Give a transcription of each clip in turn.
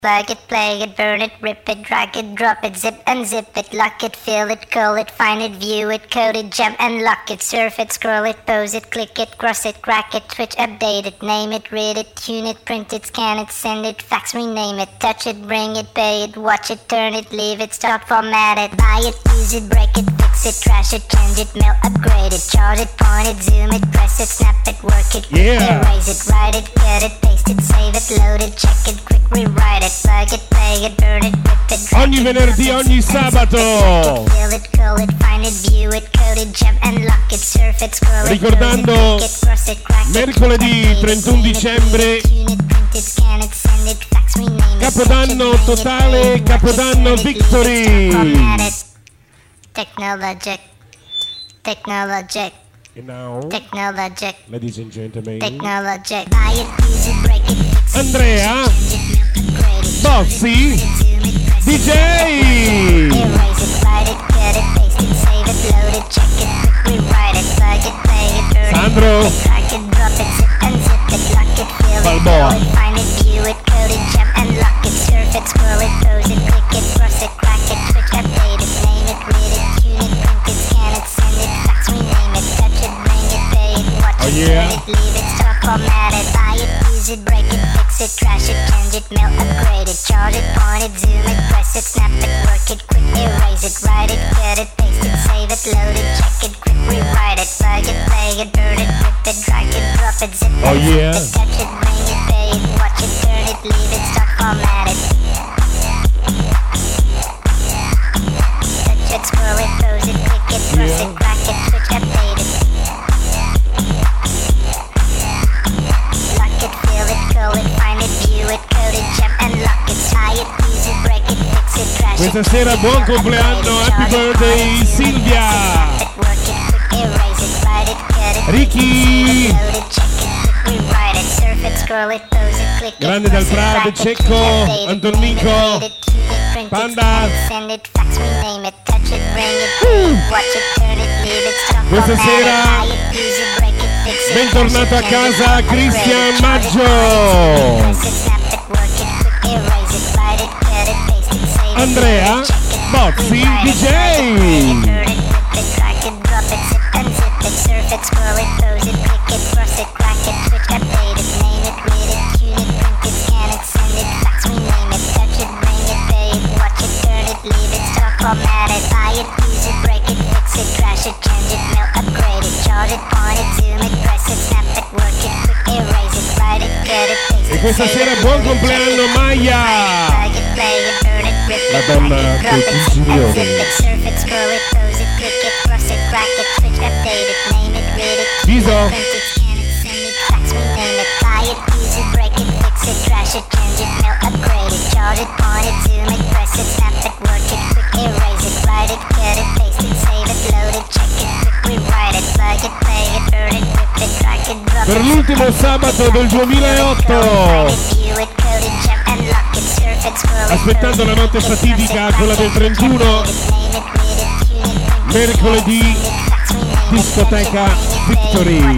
Plug it, play it, burn it, rip it, drag it, drop it, zip unzip it, lock it, fill it, call it, find it, view it, code it, jump and lock it, surf it, scroll it, pose it, click it, cross it, crack it, switch, update it, name it, read it, tune it, print it, scan it, send it, fax, rename it, touch it, bring it, pay it, watch it, turn it, leave it, stop, format it, buy it, use it, break it, fix it, trash it, change it, mail, upgrade it, charge it, point it, zoom it, press it, snap it, work it, erase it, write it, cut it, paste it, save it, load it, check it, quick rewrite it. Plug it, play it, burn it, rip it, drag ogni venerdì, ogni sabato. Ricordando mercoledì 31 dicembre, Capodanno totale, Capodanno Victory. Technologic. And now, Technologic. ladies and gentlemen, Technologic. Buy it, use it, break it, fix it, Andrea Bozzi, DJ. Erase it, write it, cut it, paste it, save it, load it, check it, quick rewrite it, plug it, play it, burn it, Sandro drag it, drop it, zip unzip it, lock it, fill it, Balboa. call it, find it, view it, code it, jump and lock it, surf it, scroll it, pose it, click it, cross it, crack it, switch, update it, name it, read it, tune it, print it, scan it, send it, fax, rename it, touch it, bring it, pay it, watch it, yeah. turn it, leave it, stop, format it, buy it, use it, break it, fix it, trash it, change it, mail, upgrade it, charge it, point it, zoom it, press it, snap it, work it, quick erase it, write it, cut it, paste it, save it, load it, check it, quick rewrite it, plug it, play it, burn it, rip it, drag it, drop it, zip it, yeah. touch it, bring it, pay it, watch it, turn it, leave it, stop, format it. Touch it, scroll it, pose it, click it, cross it, crack it, switch, update it. Lock it, fill it, call it, find it, view it, code it, jump and lock it, tie it, use it, break it, fix it, trash it. Questa sera buon compleanno, happy birthday Silvia. Ricky. Grande dal Prado, Cecco, Antonmico, Panda. Questa sera bentornato a casa Cristian Maggio, Andrea Bozzi, DJ. E questa sera buon compleanno Maya, la donna del Pugilione. Viso. Per l'ultimo sabato del 2008, aspettando la notte fatidica, quella del 31, mercoledì, discoteca Victory.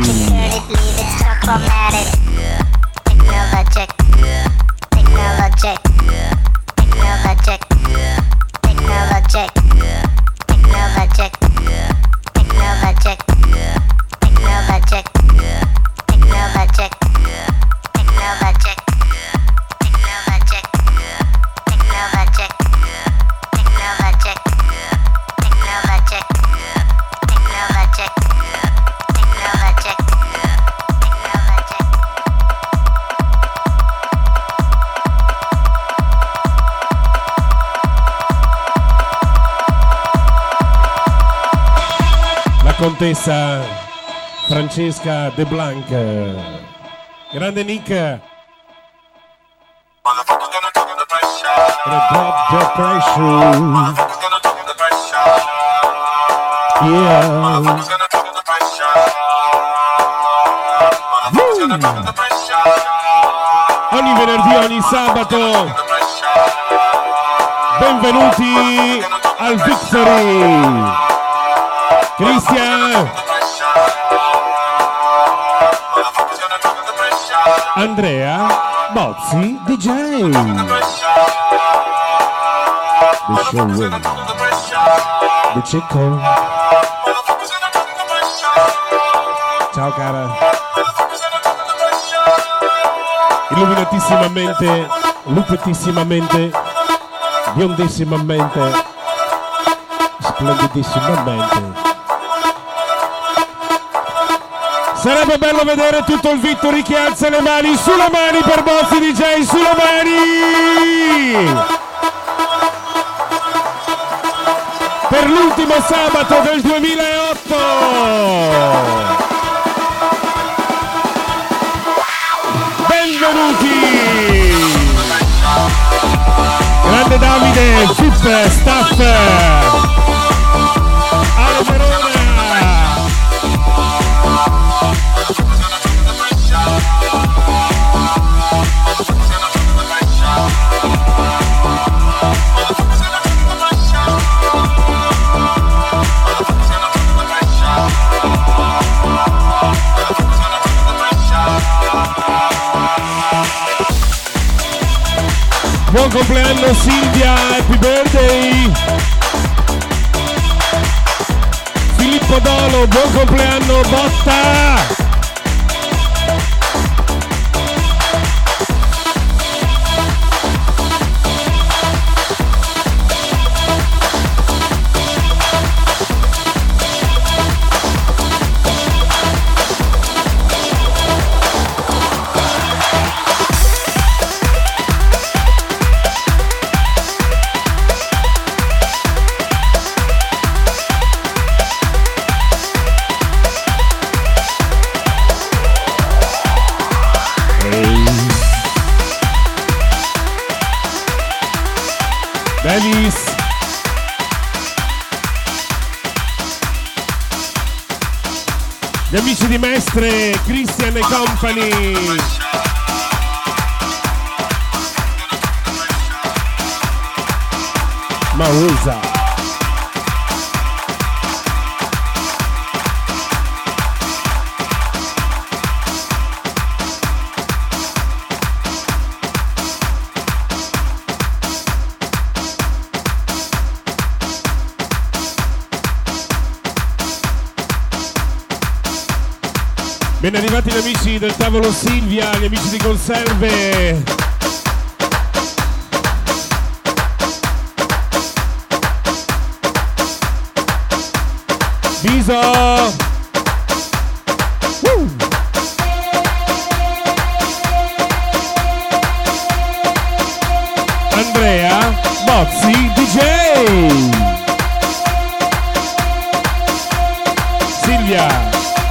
Contessa Francesca De Blanc, grande Nick, drop the pressure, yeah. Ogni venerdì, ogni sabato, benvenuti al Victory. Cristian, Andrea Bozzi, DJ. The show will. The Cicco. Ciao cara. Illuminatissimamente, lupettissimamente, biondissimamente, splendidissimamente. Sarebbe bello vedere tutto il Victory che alza le mani, sulle mani per Bozzi DJ, sulle mani! Per l'ultimo sabato del 2008! Benvenuti! Grande Davide, Fip, Staff, Ale Verona! Buon compleanno Silvia, happy birthday! Filippo Dolo, buon compleanno Botta! Davis. Gli amici di Mestre, Christian e Company. Mausa. Ben arrivati gli amici del tavolo Silvia, gli amici di conserve. Viso. Andrea Bozzi DJ. Silvia.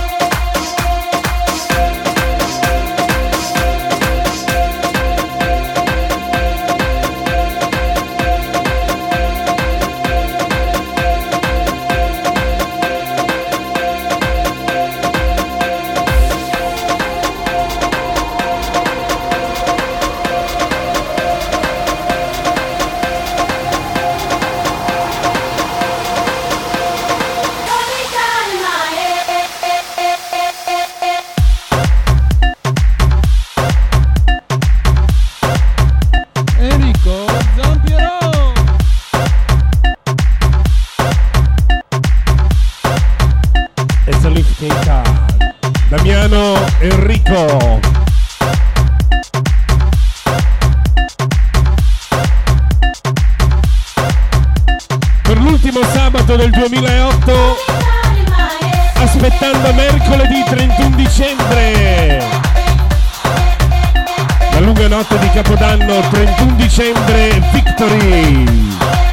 Damiano Enrico. Per l'ultimo sabato del 2008, aspettando mercoledì 31 dicembre. La lunga notte di Capodanno, 31 dicembre, Victory.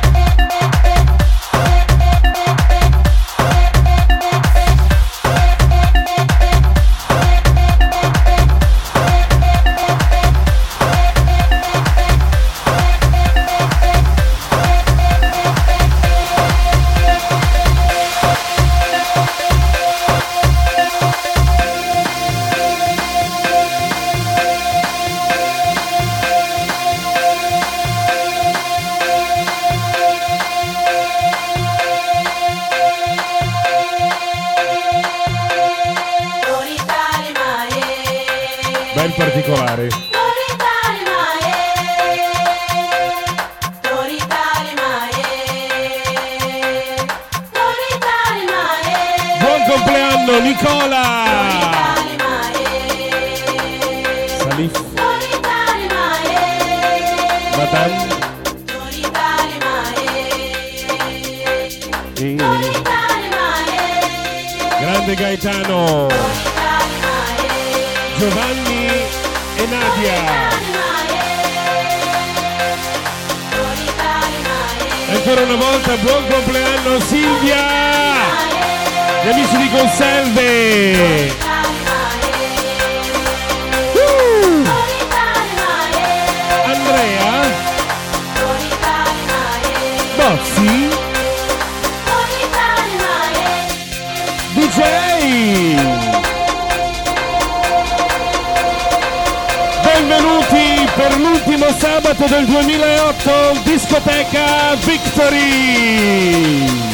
Ben particolare. Nicola Salif Madame grande Gaetano Giovanni e Nadia. Ancora una volta buon compleanno Silvia, gli amici di Conserve. Andrea Bozzi DJ. Benvenuti per l'ultimo sabato del 2008, discoteca Victory.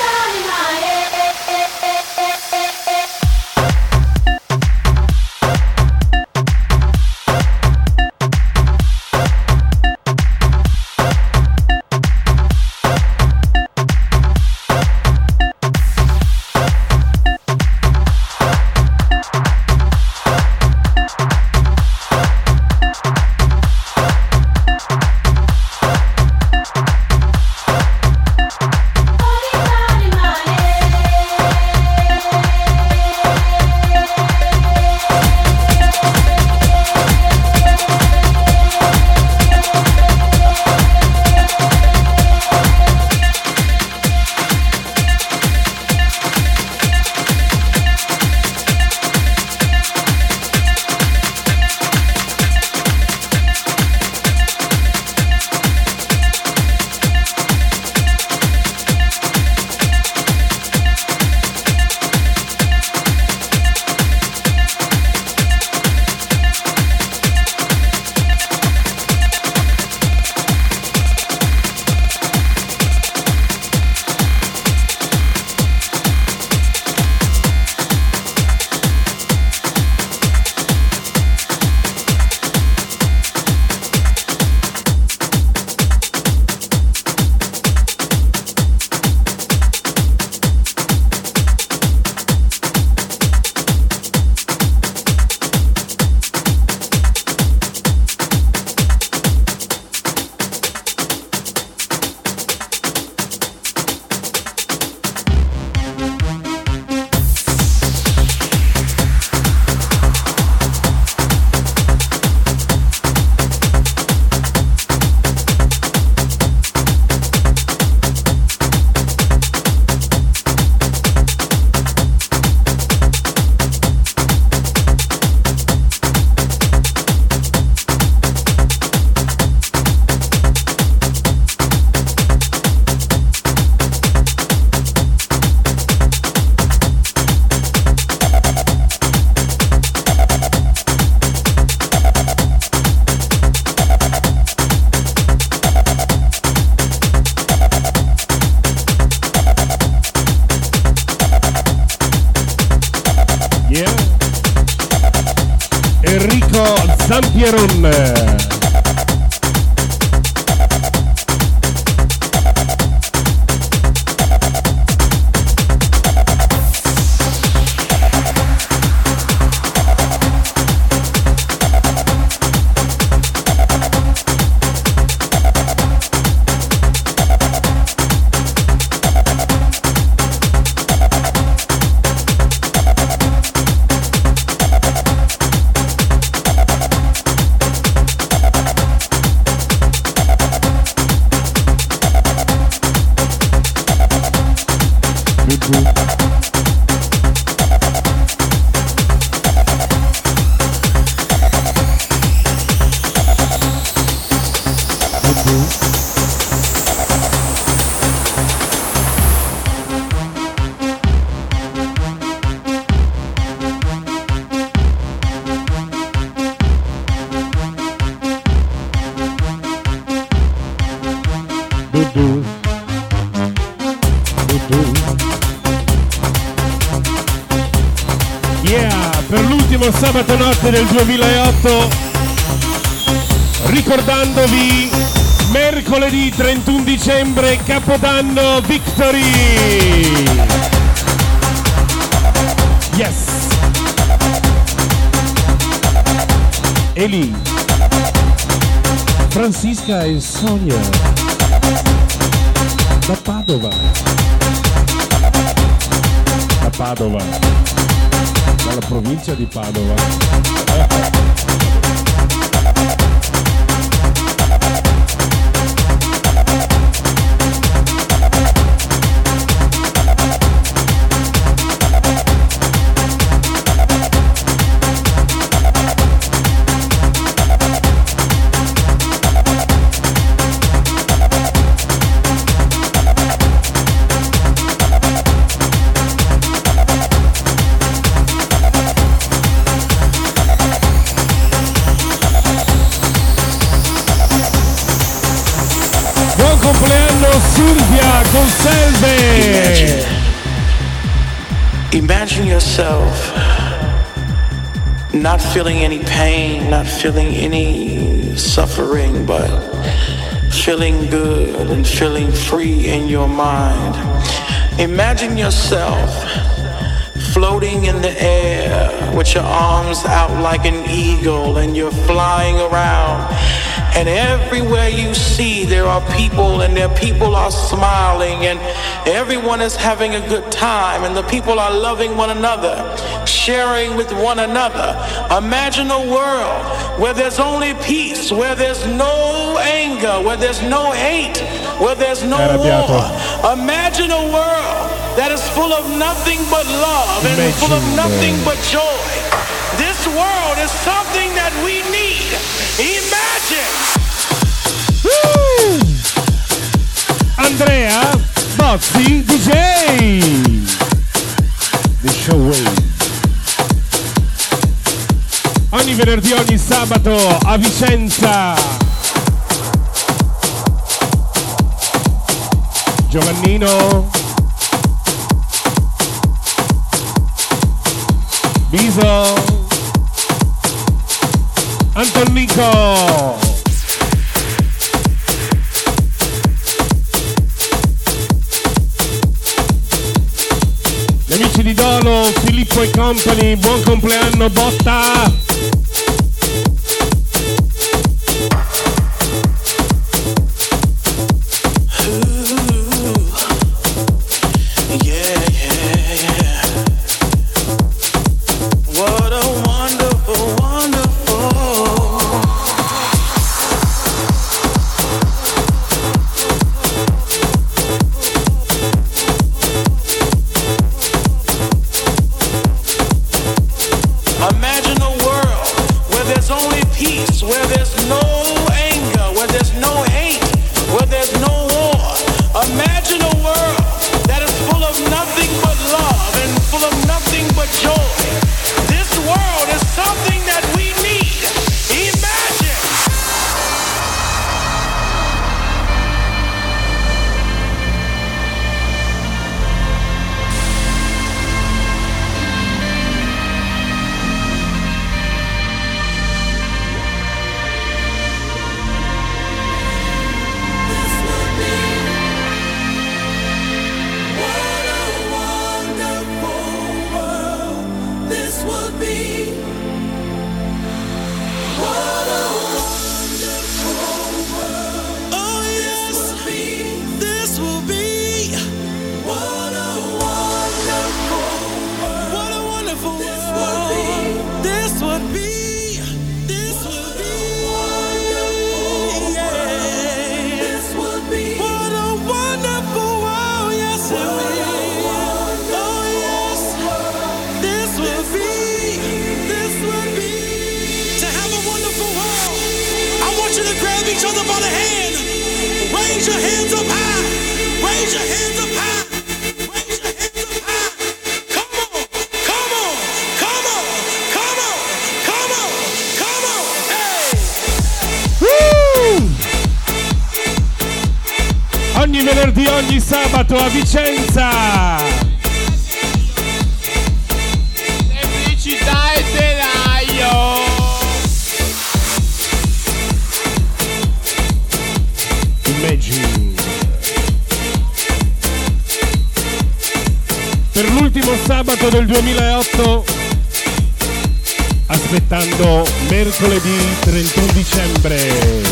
Zampieron. Per l'ultimo sabato notte del 2008, ricordandovi mercoledì 31 dicembre, Capodanno Victory. Yes! Eli, Francisca e Sonia da Padova, dalla provincia di Padova. Silvia Conselve. Imagine yourself not feeling any pain, not feeling any suffering, but feeling good and feeling free in your mind. Imagine yourself floating in the air with your arms out like an eagle, and you're flying around. And everywhere you see, there are people, and their people are smiling, and everyone is having a good time, and the people are loving one another, sharing with one another. Imagine a world where there's only peace, where there's no anger, where there's no hate, where there's no war. Imagine a world that is full of nothing but love and full of nothing but joy. This world is something that we need. Imagine! Woo! Andrea Bozzi DJ The Showwave. Ogni venerdì, ogni sabato a Vicenza. Giovannino, Biso, Antonico, gli amici di Dolo, Filippo e Company, buon compleanno Botta. Ogni venerdì, ogni sabato a Vicenza. Semplicità e telaio. Imagine. per l'ultimo sabato del 2008, aspettando mercoledì 31 dicembre.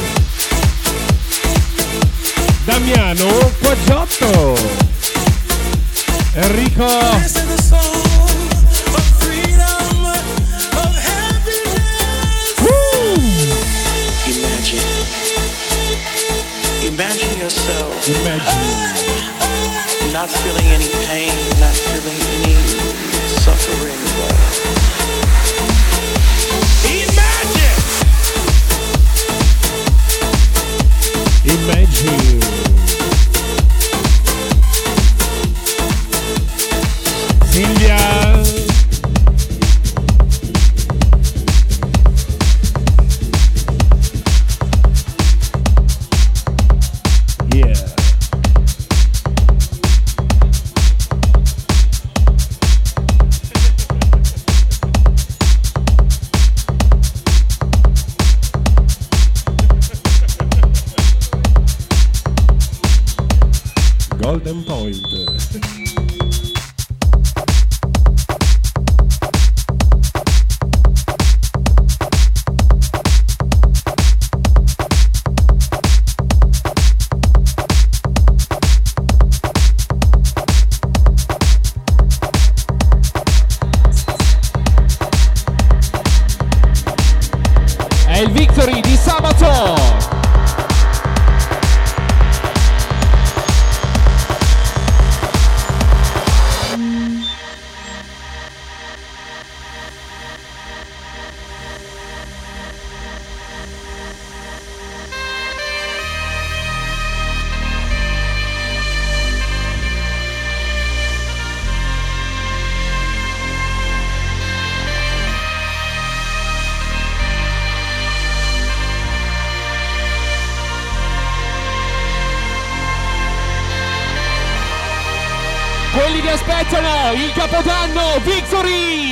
Damiano Quaggiotto, Enrico. Imagine yourself. Imagine. Not feeling any pain, not feeling any suffering, but imagine. Silvia. Golden Point. È il Victory di sabato. Quelli che aspettano il Capodanno Victory!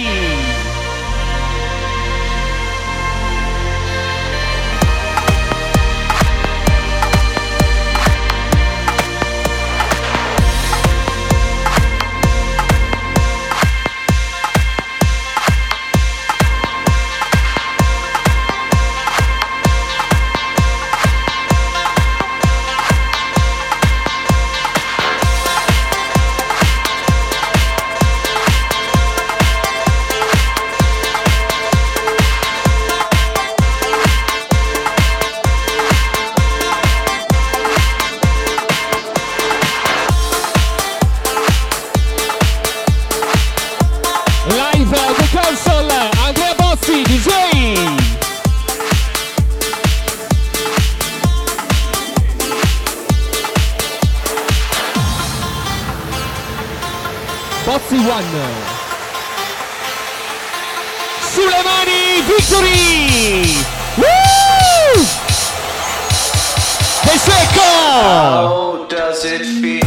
Bozzi One. Sulle mani, Victory! Woo! De Secco! how does it feel?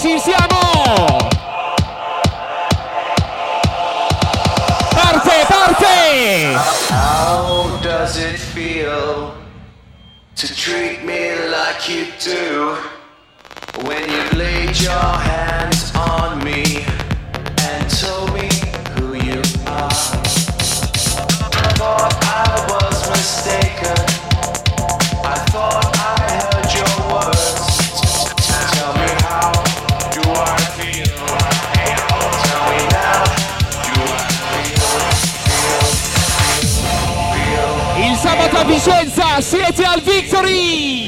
ci siamo! Parte! How does it feel to treat me like you do when you've laid your hands on me and told me who you are? I thought I was mistaken. I thought I heard your words. Tell me, how do I feel? Tell me now, do I feel? Il sabato a Vicenza siete al Victory!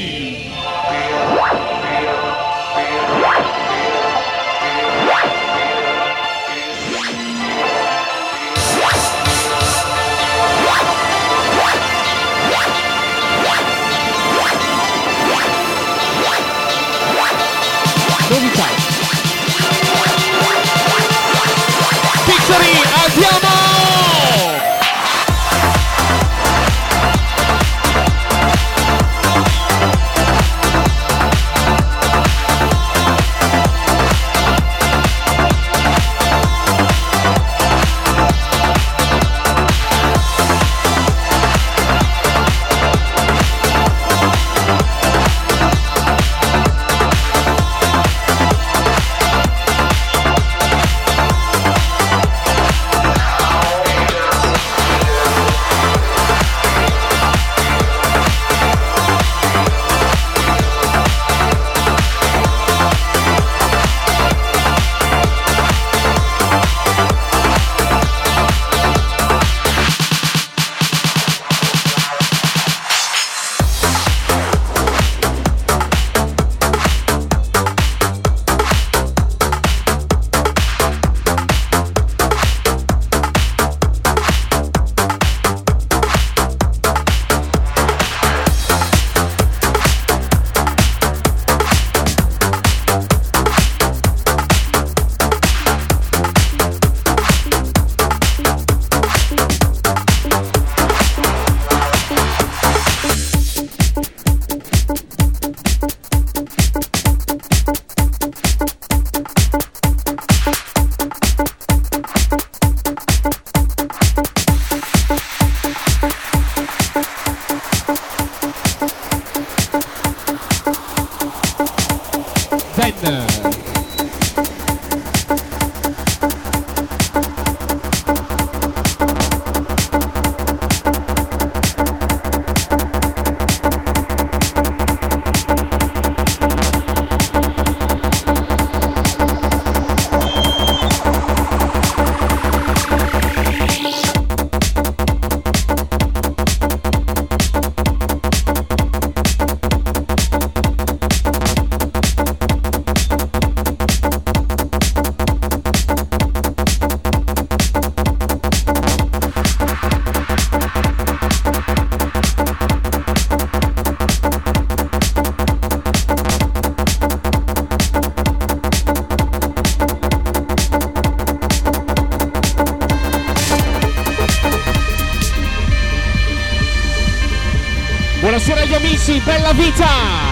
Novità. Victory, andiamo! Buonasera agli amici, bella vita!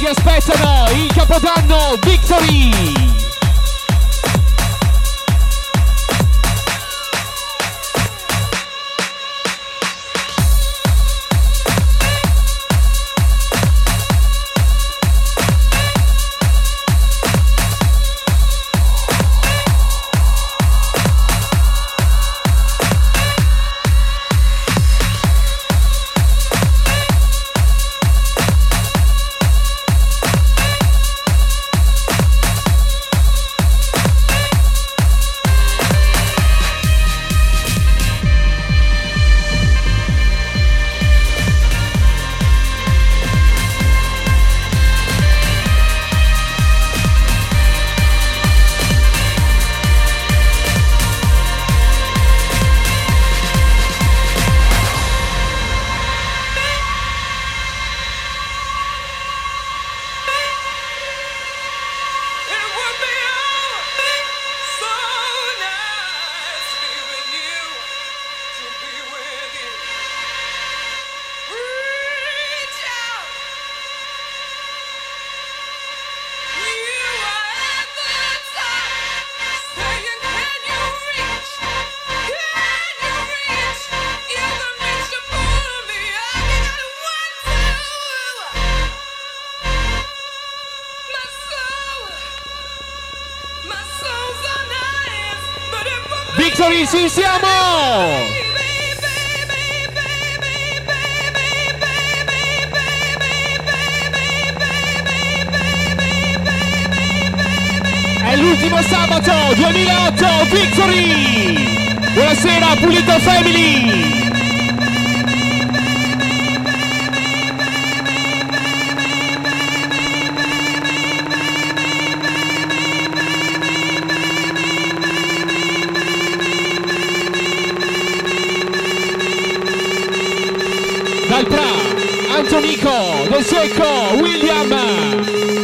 aspettano il Capodanno Victory. Victory, ci siamo! È l'ultimo sabato 2008, Victory! Buonasera, Pulito Family! Dal Pra, Antonico, Del Secco, William.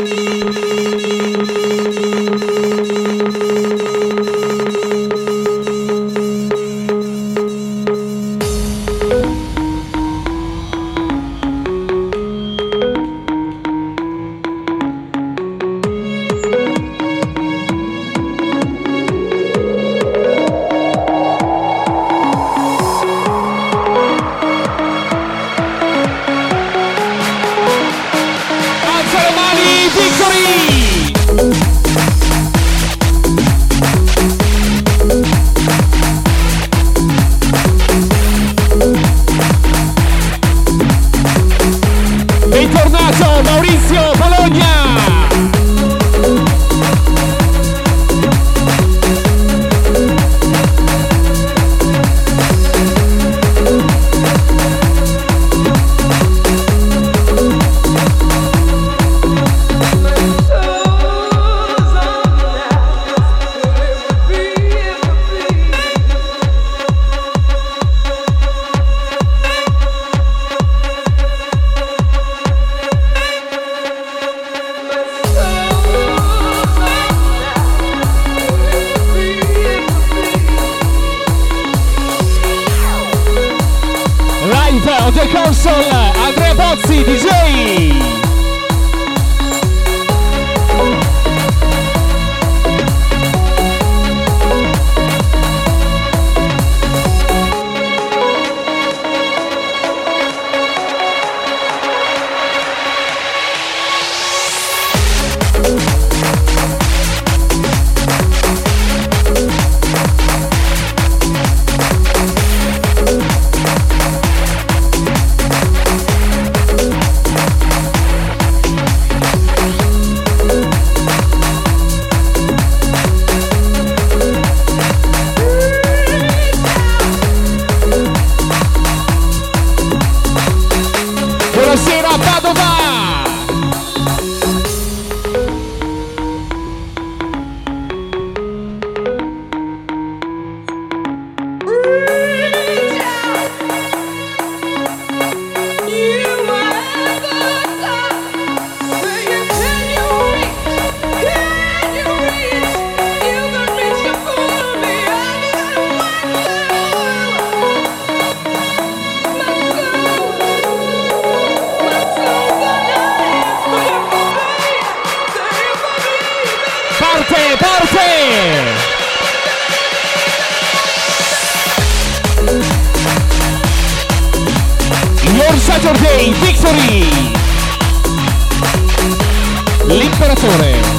On the console, Andrea Bozzi, DJ! on Saturday, Victory! L'imperatore.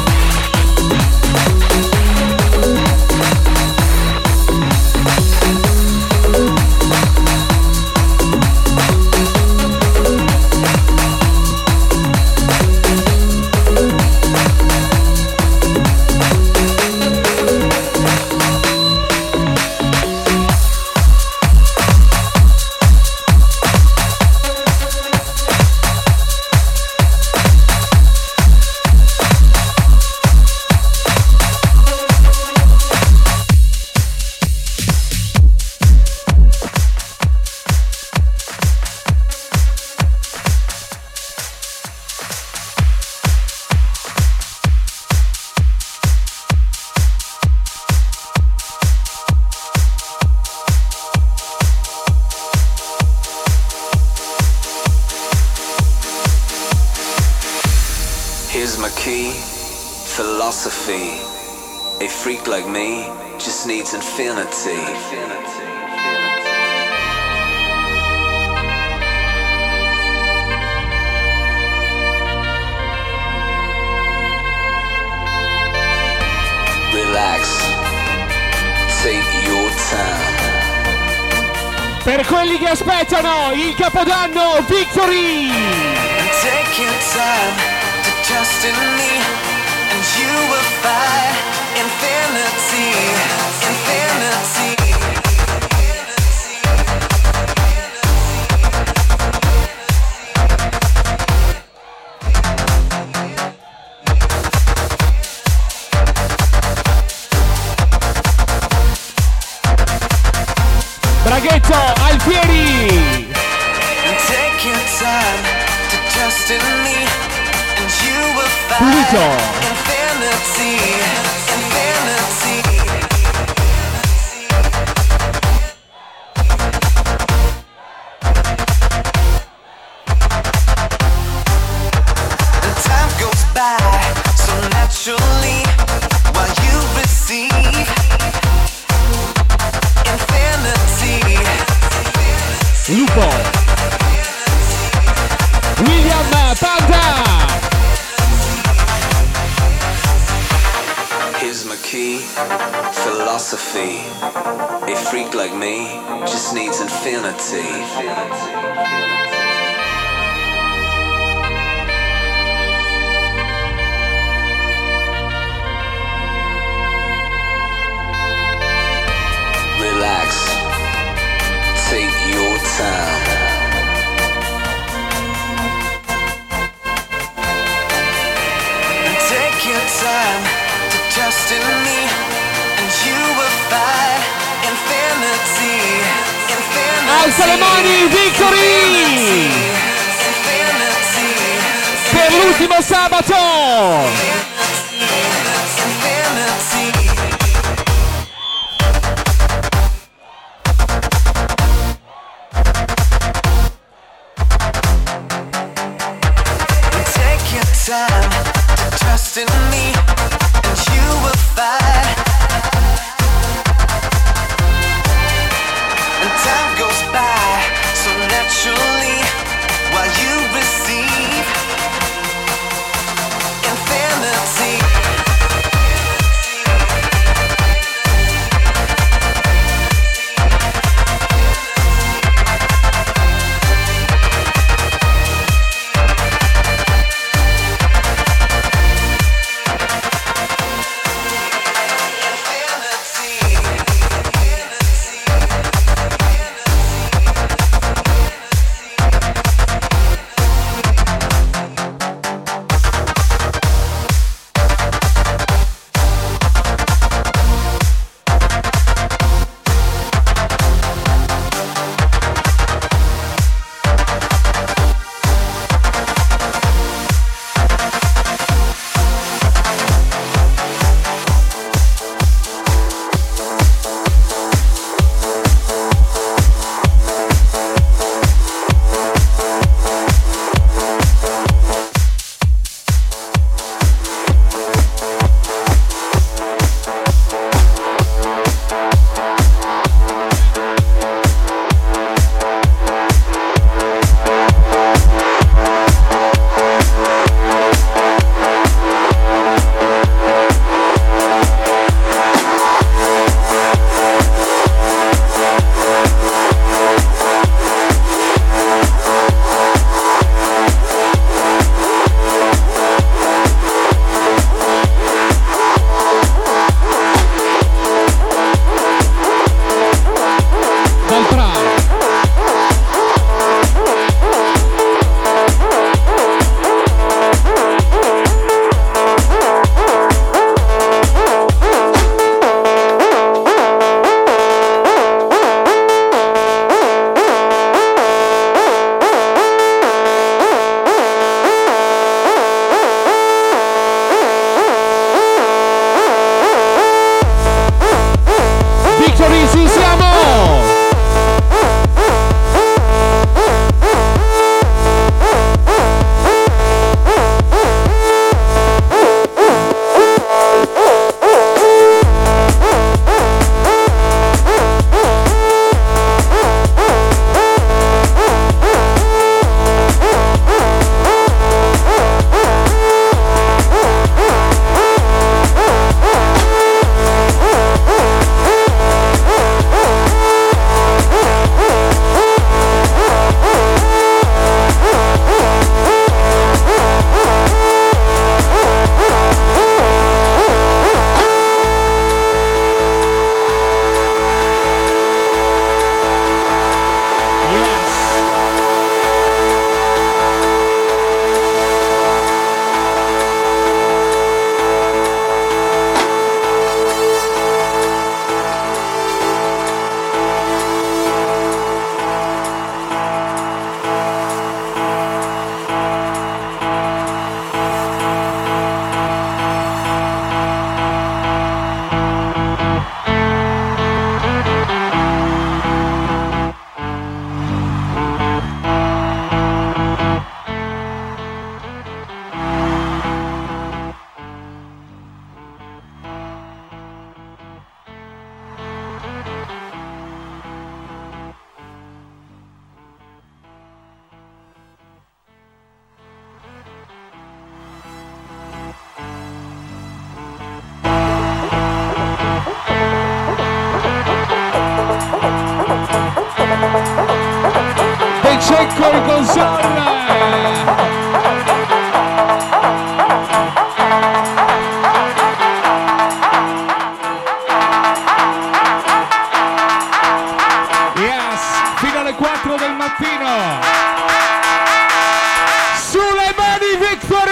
Here's my key, philosophy. A freak like me just needs infinity. Relax, take your time. Per quelli che aspettano il Capodanno, Victory! Take your time. Trust in me, and you will find infinity, infinity. Braghetto, Alfieri! Take your time to trust in me. You will find infinity, infinity. And time goes by so naturally while you receive infinity. Lupo, William Panda. Here's my key, philosophy. A freak like me just needs infinity. Relax, take your time. Take your time. Trust in me, and you will find infinity, infinity. Alza le mani, Victory! Infinity. Per l'ultimo sabato! Infinity. Take your time to trust in me. You will find, and time goes by so naturally while you receive infinity. Checco in console. Fino alle 4 del mattino. Sulle mani Victory!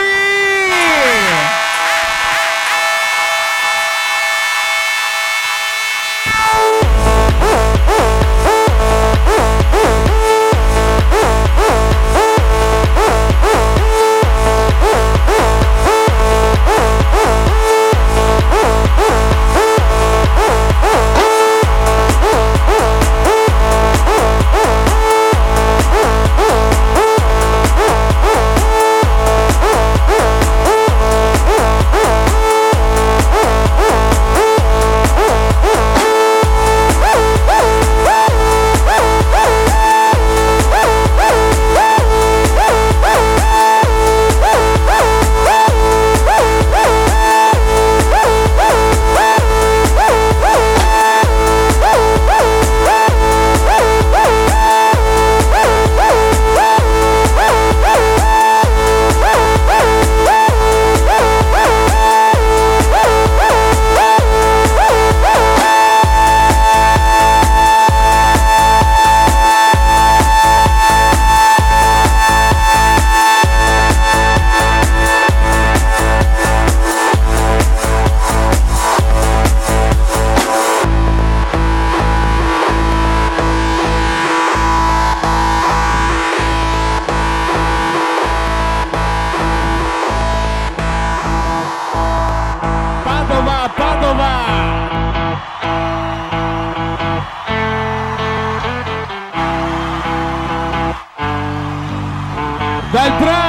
Dal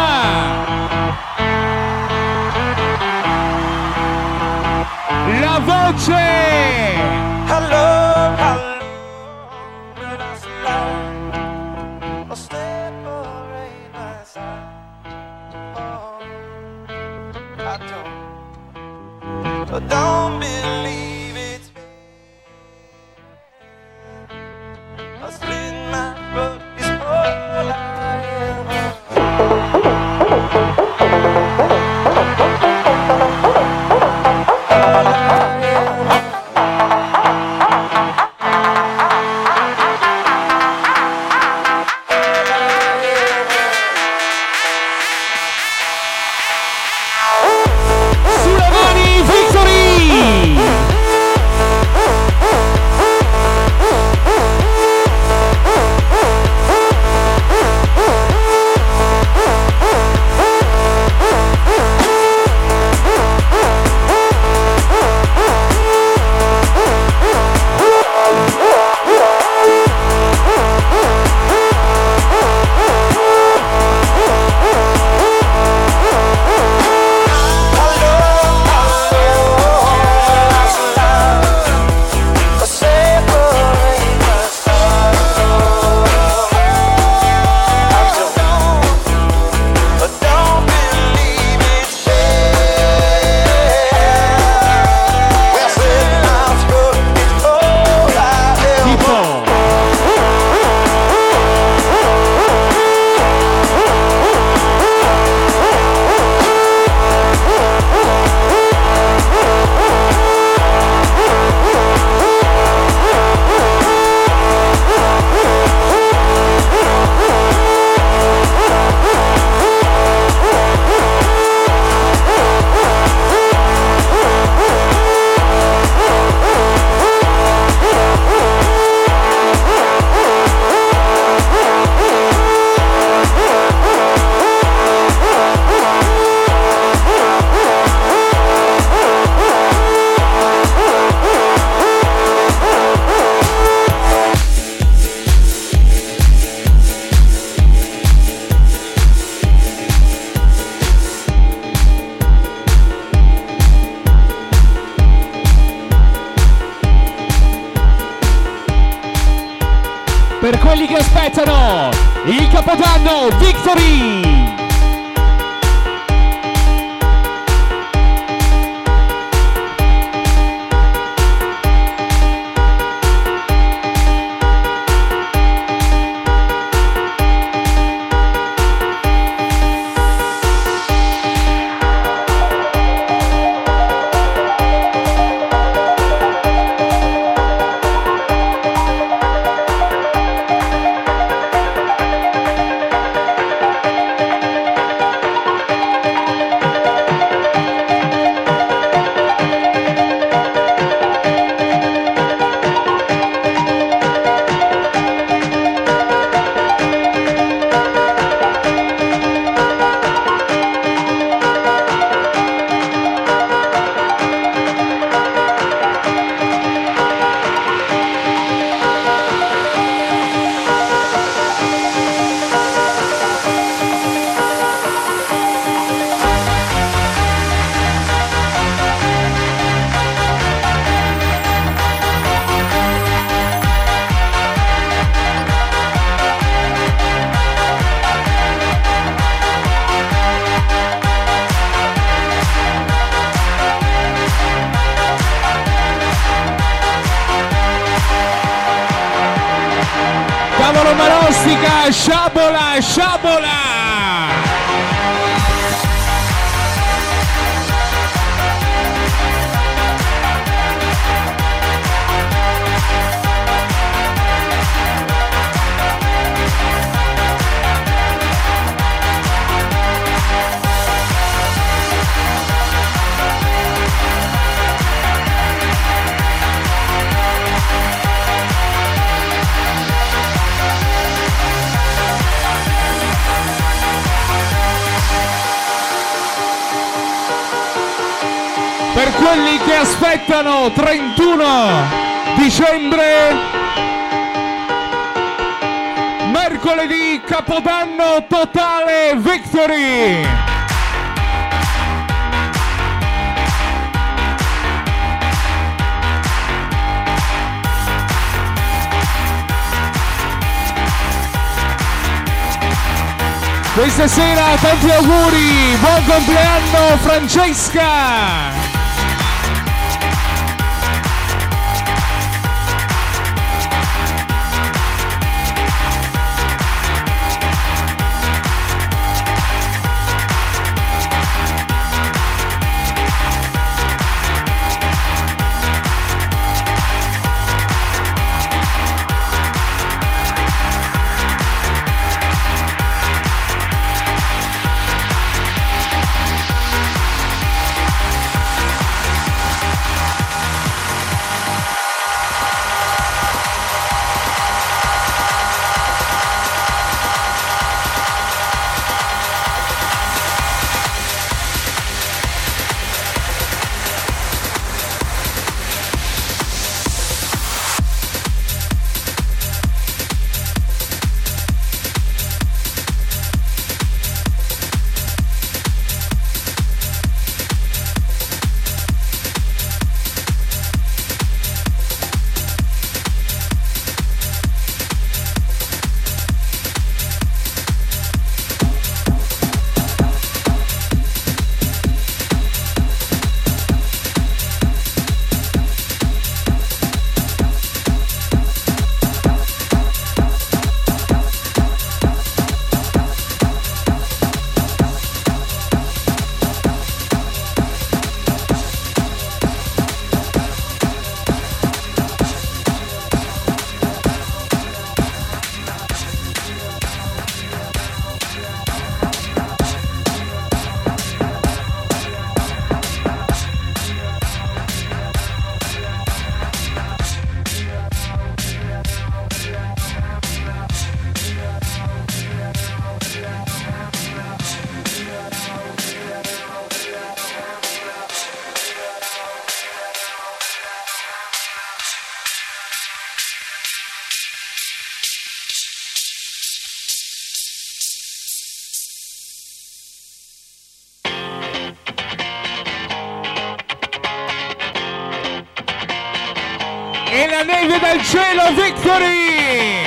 la voce. Hello, but I slide. I'll separate my side. Oh, I don't believe it's me. I split my foot is all I am. Per quelli che aspettano il Capodanno Victory! Sciabola! Per quelli che aspettano 31 dicembre, mercoledì Capodanno totale Victory. Questa sera tanti auguri, buon compleanno Francesca! E la neve dal cielo, Victory!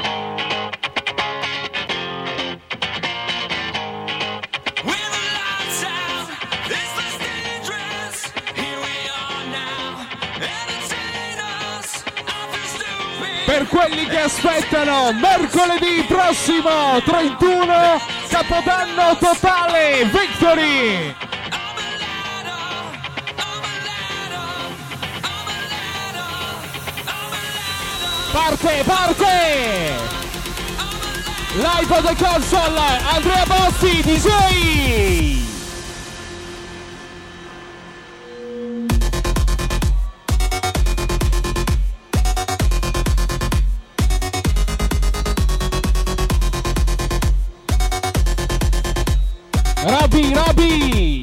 Per quelli che aspettano, mercoledì prossimo, 31, Capodanno totale, Victory! Parte! Live on the console, Andrea Bossi, DJ! Roby!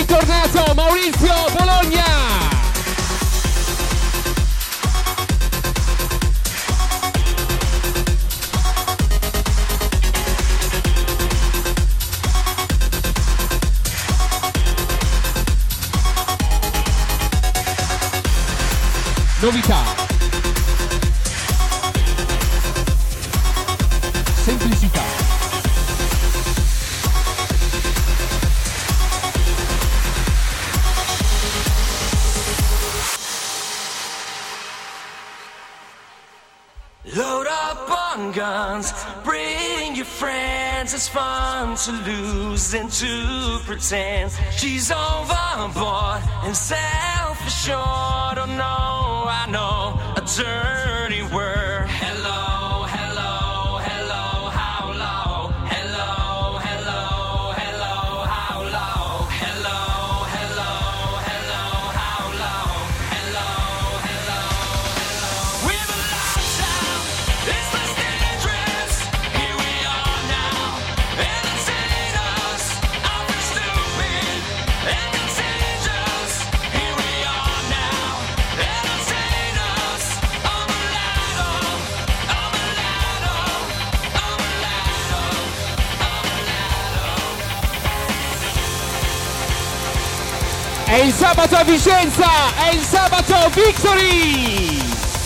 bentornato Maurizio Bologna. Novità, semplicità, load up on guns, bring your friends. It's fun to lose and to pretend. She's overboard and self-assured. Oh no, I know a dirty word. Hello, hello, hello, how low? Hello, hello, hello, how low? Hello, hello, hello, how low? Hello, hello, hello. We've a lifetime, it's less dangerous. Here we are now, entertain us. I feel stupid and contagious. Here we are now, entertain us. I'm a ladder, I'm a ladder, I'm a ladder, I'm a ladder. è il sabato a Vicenza, è il sabato Victory.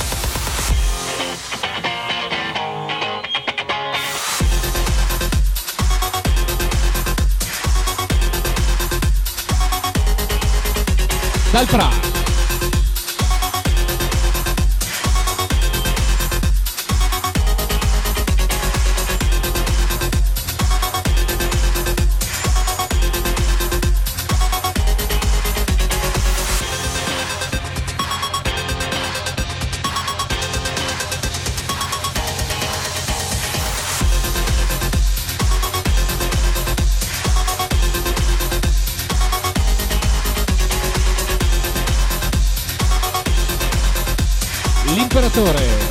Dal Pra. L'imperatore.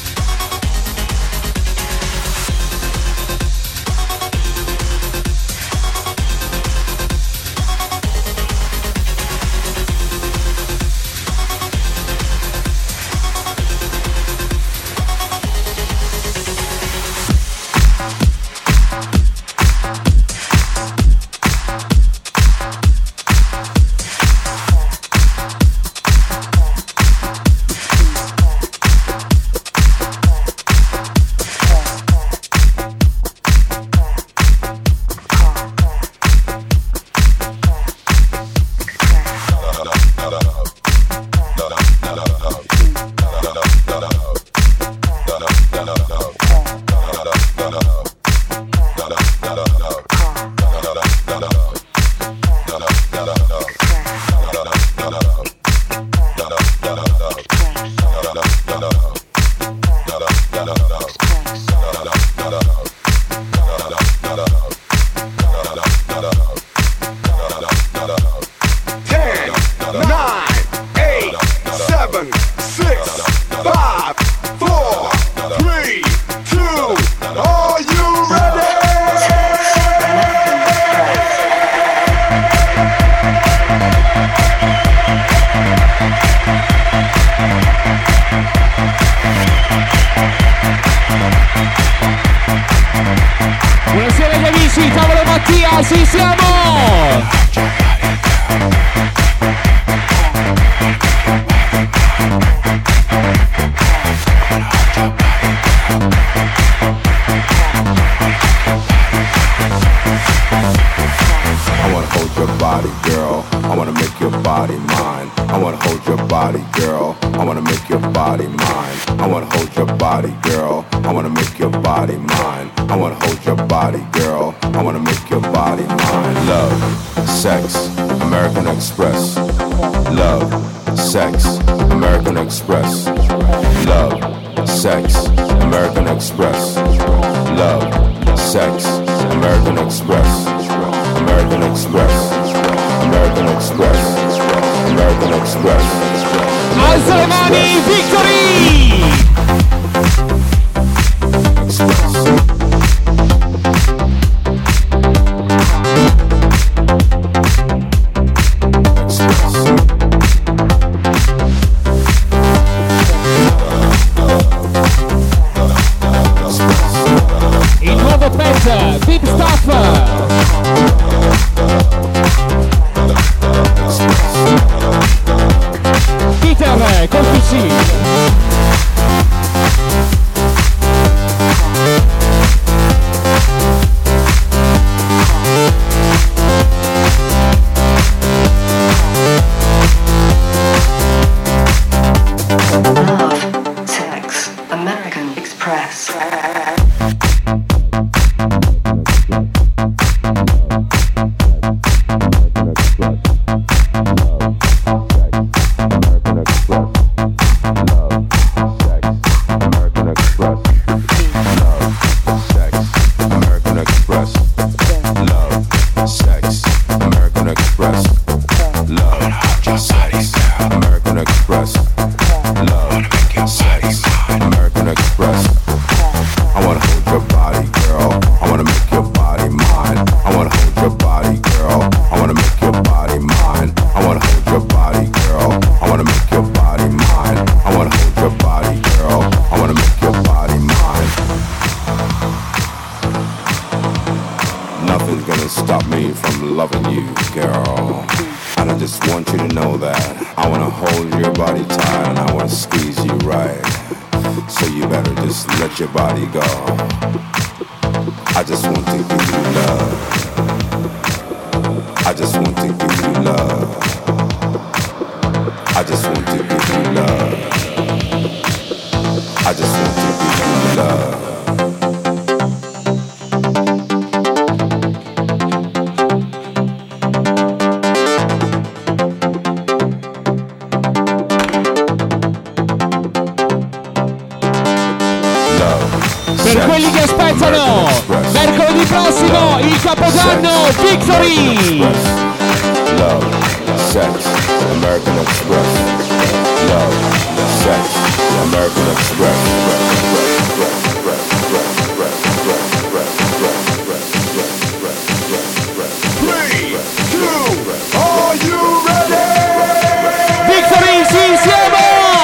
Buonasera agli amici, tavolo Mattia, ci siamo! I wanna hold your body, girl. I wanna make your body mine. I wanna hold your body, girl. I wanna make your body mine. I wanna hold your body, girl. I wanna make your body mine. I wanna hold your body, girl. I wanna make your body mine. Love, sex, American Express. Love, sex, American Express. Love, sex, American Express. Love, sex, American Express. American Express. American Express. American Express. Alza le mani, Victory! Express. wanna hold your body, girl. I wanna make your body mine. I wanna hold your body, girl. I wanna make your body mine. I wanna hold your body, girl. I wanna make your body mine. Nothing's gonna stop me from loving you, girl. And I just want you to know that I wanna hold your body tight and I wanna squeeze you right. So you better just let your body go. I just want to give you love. I just want to give you love. I just want to give you love. I just want to give you love. Per quelli che aspettano, mercoledì prossimo, il Capodanno Victory! Love, sex, American Express. Love, sex, American Express. 3, 2, are you ready? Victory, sì, siamo!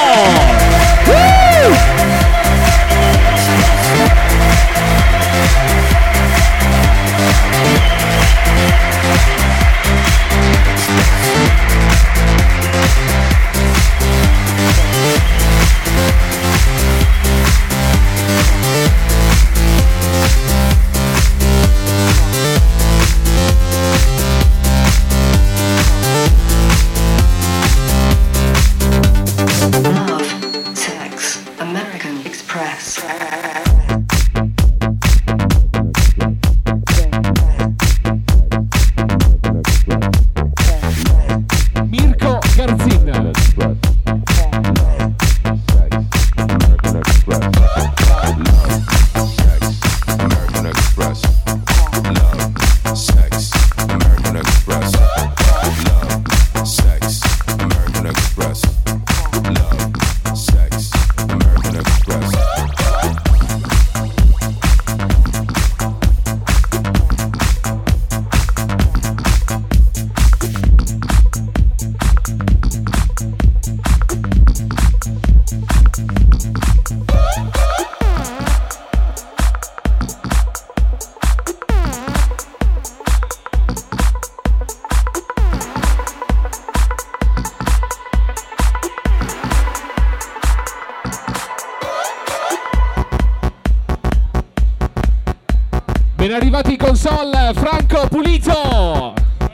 Ben arrivati in console, Franco Pulito!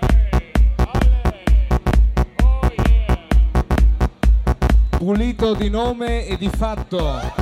Pulito di nome e di fatto.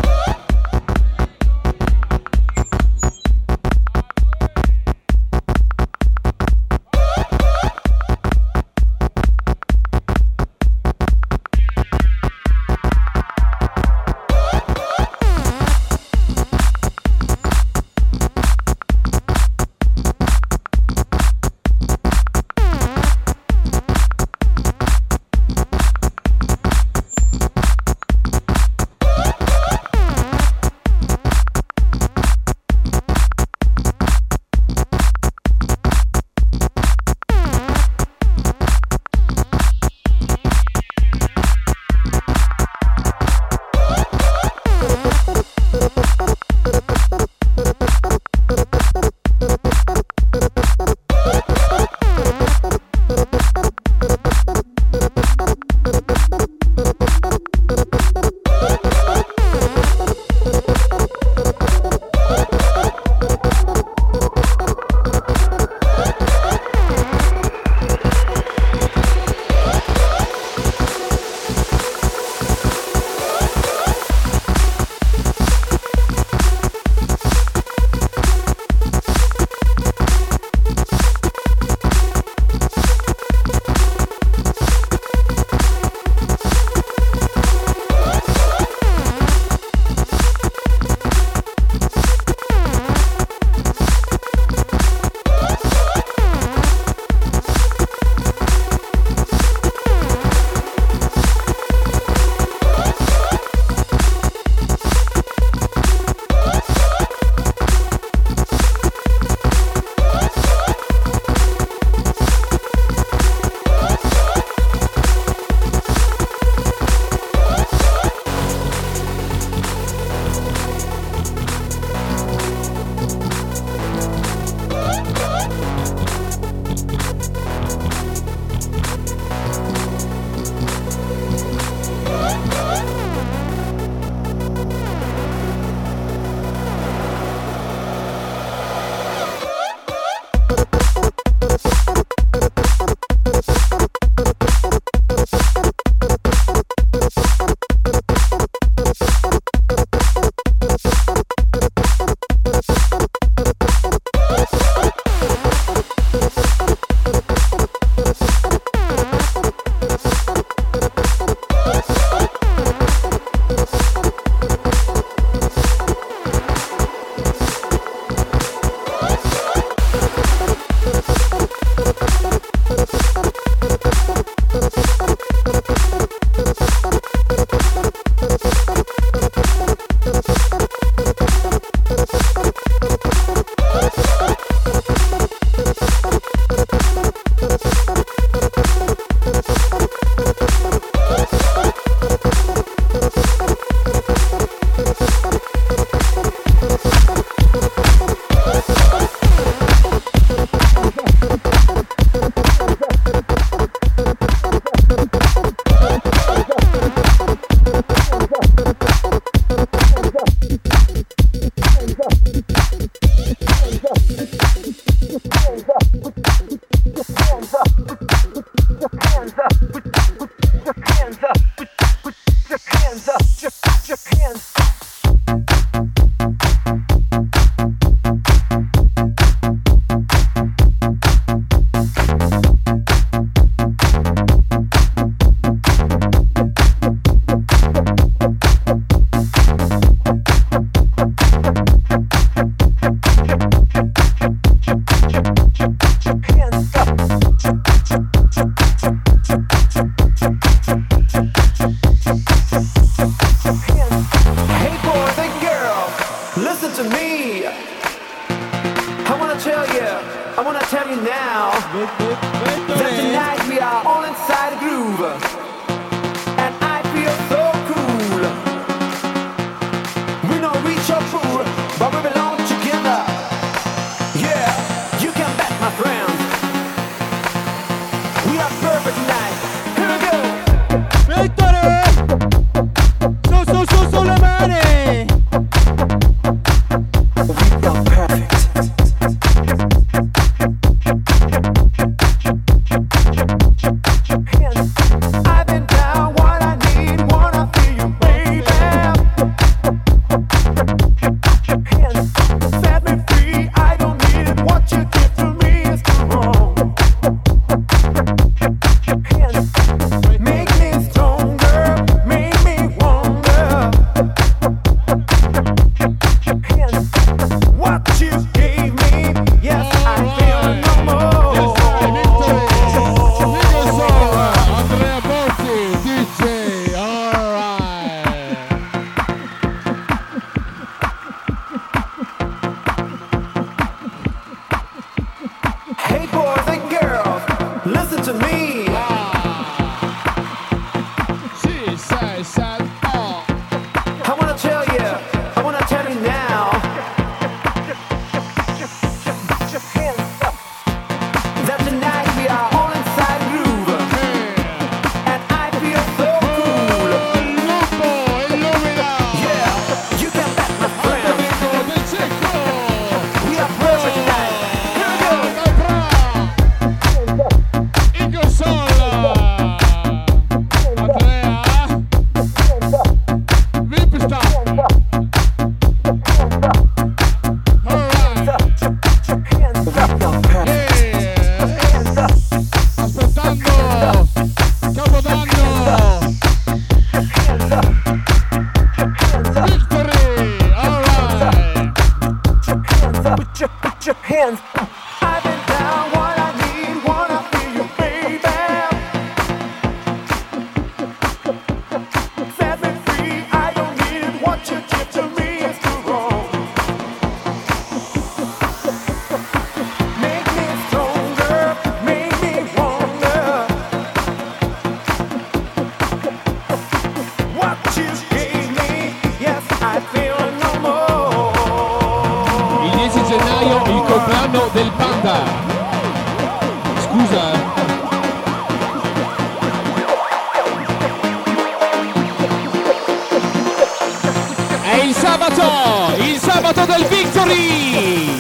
Il sabato del Victory!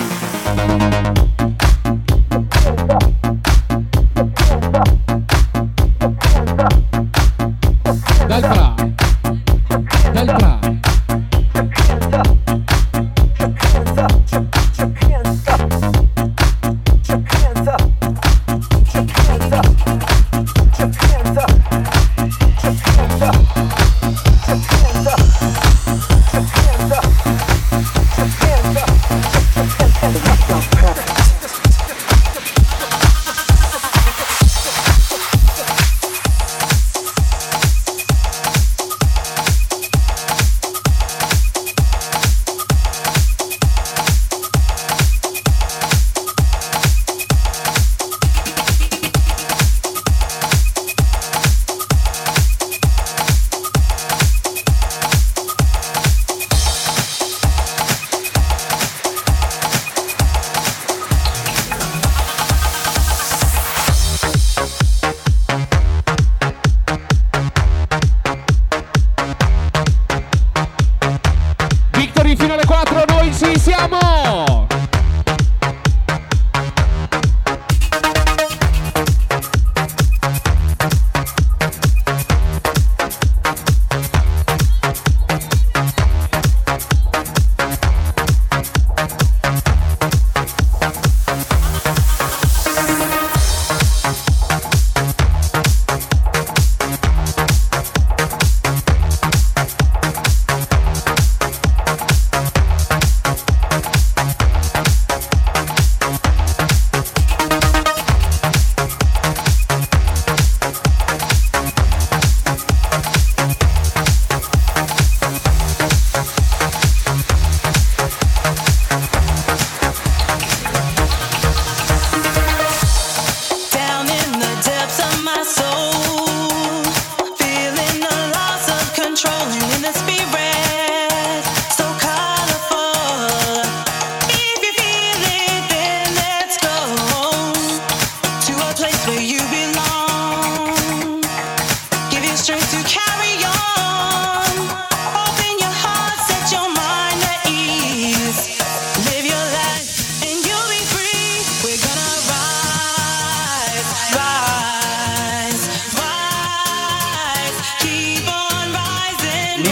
Perfect.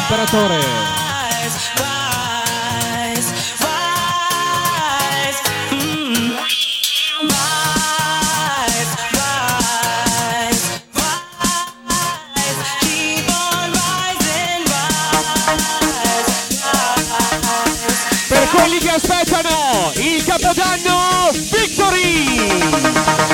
l'imperatore. Per quelli che aspettano il Capodanno Victory!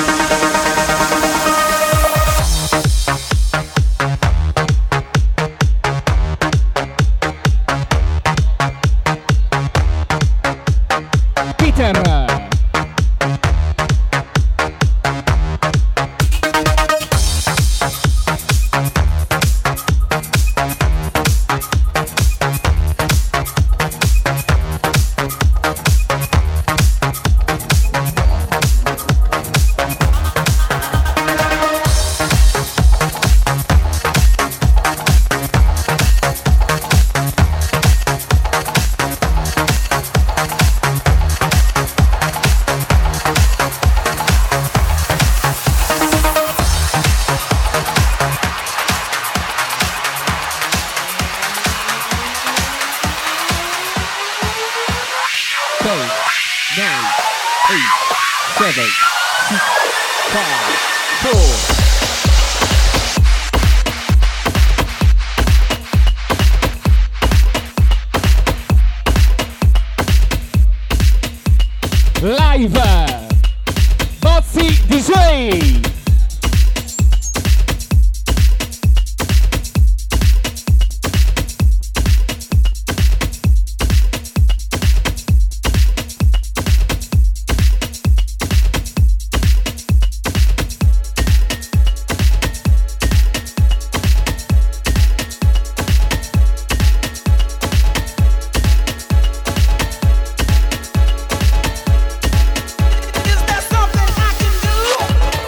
Live Bozzi DJ.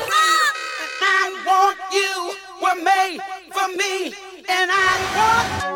For me, and I want